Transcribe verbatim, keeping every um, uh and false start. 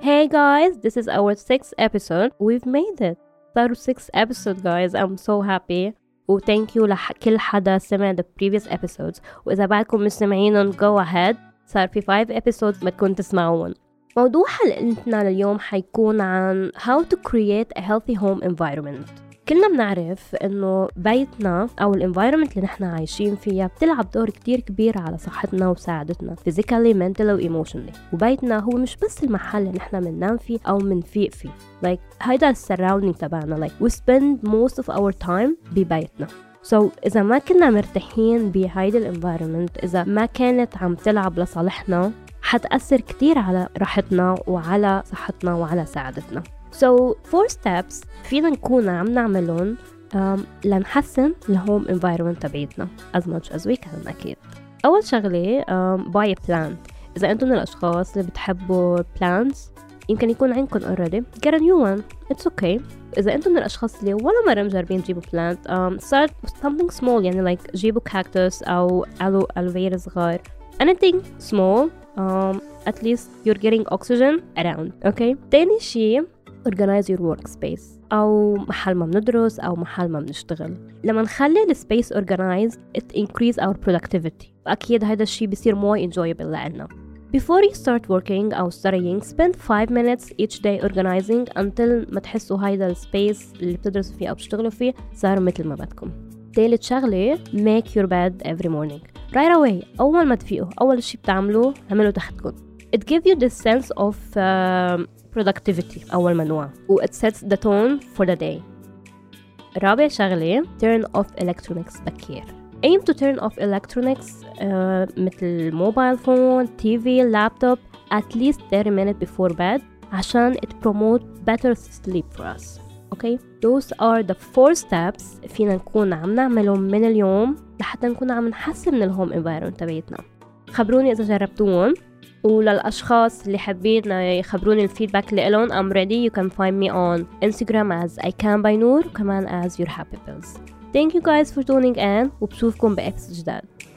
Hey guys, this is our sixth episode. We've made it. صاروا six episode guys. I'm so happy. و thank you لكل حدا سمع the previous episodes. وإذا بعدكم مستمعين go ahead. صار في five episodes بدكم تسمعون. موضوع حلقتنا لليوم حيكون عن how to create a healthy home environment. كلنا بنعرف إنه بيتنا أو الانفايرمنت اللي نحن عايشين فيها بتلعب دور كتير كبير على صحتنا وسعادتنا physically, mentally و emotionally. وبيتنا هو مش بس المحل اللي نحن مننام فيه أو منفيق فيه. like هيدا السراوندينج تبعنا. like we spend most of our time ببيتنا. so إذا ما كنا مرتاحين بهيدا الانفايرمنت، إذا ما كانت عم تلعب لصالحنا، حتأثر كتير على راحتنا وعلى صحتنا وعلى سعادتنا. So four steps فينا نكون عم نعملهم um, لنحسن الهوم environment تبعيتنا as much as we can أكيد. أول شغلة um, buy a plant. إذا أنتم من الأشخاص اللي بتحبوا plants يمكن يكون عندكم already get a new one, it's okay. إذا أنتم من الأشخاص اللي ولا مرة مجربين تجيبوا plant um, start something small، يعني like جيبوا cactus أو aloe vera صغار. anything small um, at least you're getting oxygen around. okay. تاني شي organize your workspace أو محل ما بندرس أو محل ما بنشتغل. لما نخلي السبيس organized it increase our productivity. أكيد هذا الشيء بيصير more enjoyable لنا. Before you start working أو studying spend five minutes each day organizing until ما تحسوا هيدا السبيس اللي بتدرسوا فيه أو بتشتغلوا فيه صار مثل ما بدكم. تالت شغلة make your bed every morning right away. أول ما تفيقوا أول شيء بتعملوه عملوا تحتكم. it gives you this sense of uh, productivity أول ما نوع و it sets the tone for the day. رابع شغلة turn off electronics بكير. aim to turn off electronics uh, مثل mobile phone, تي في, laptop at least thirty minutes before bed عشان it promote better sleep for us. okay. those are the four steps فينا نكون عم نعملهم من اليوم لحتى نكون عم نحسن من الهوم environment تبعيتنا. خبروني إذا جربتوهم، وللأشخاص اللي حابين يخبروني الفيدباك اللي لهم I'm ready. you can find me on Instagram as I can by Noor وكمان as your happy pills. thank you guys for tuning in وبشوفكم بإبس جداد.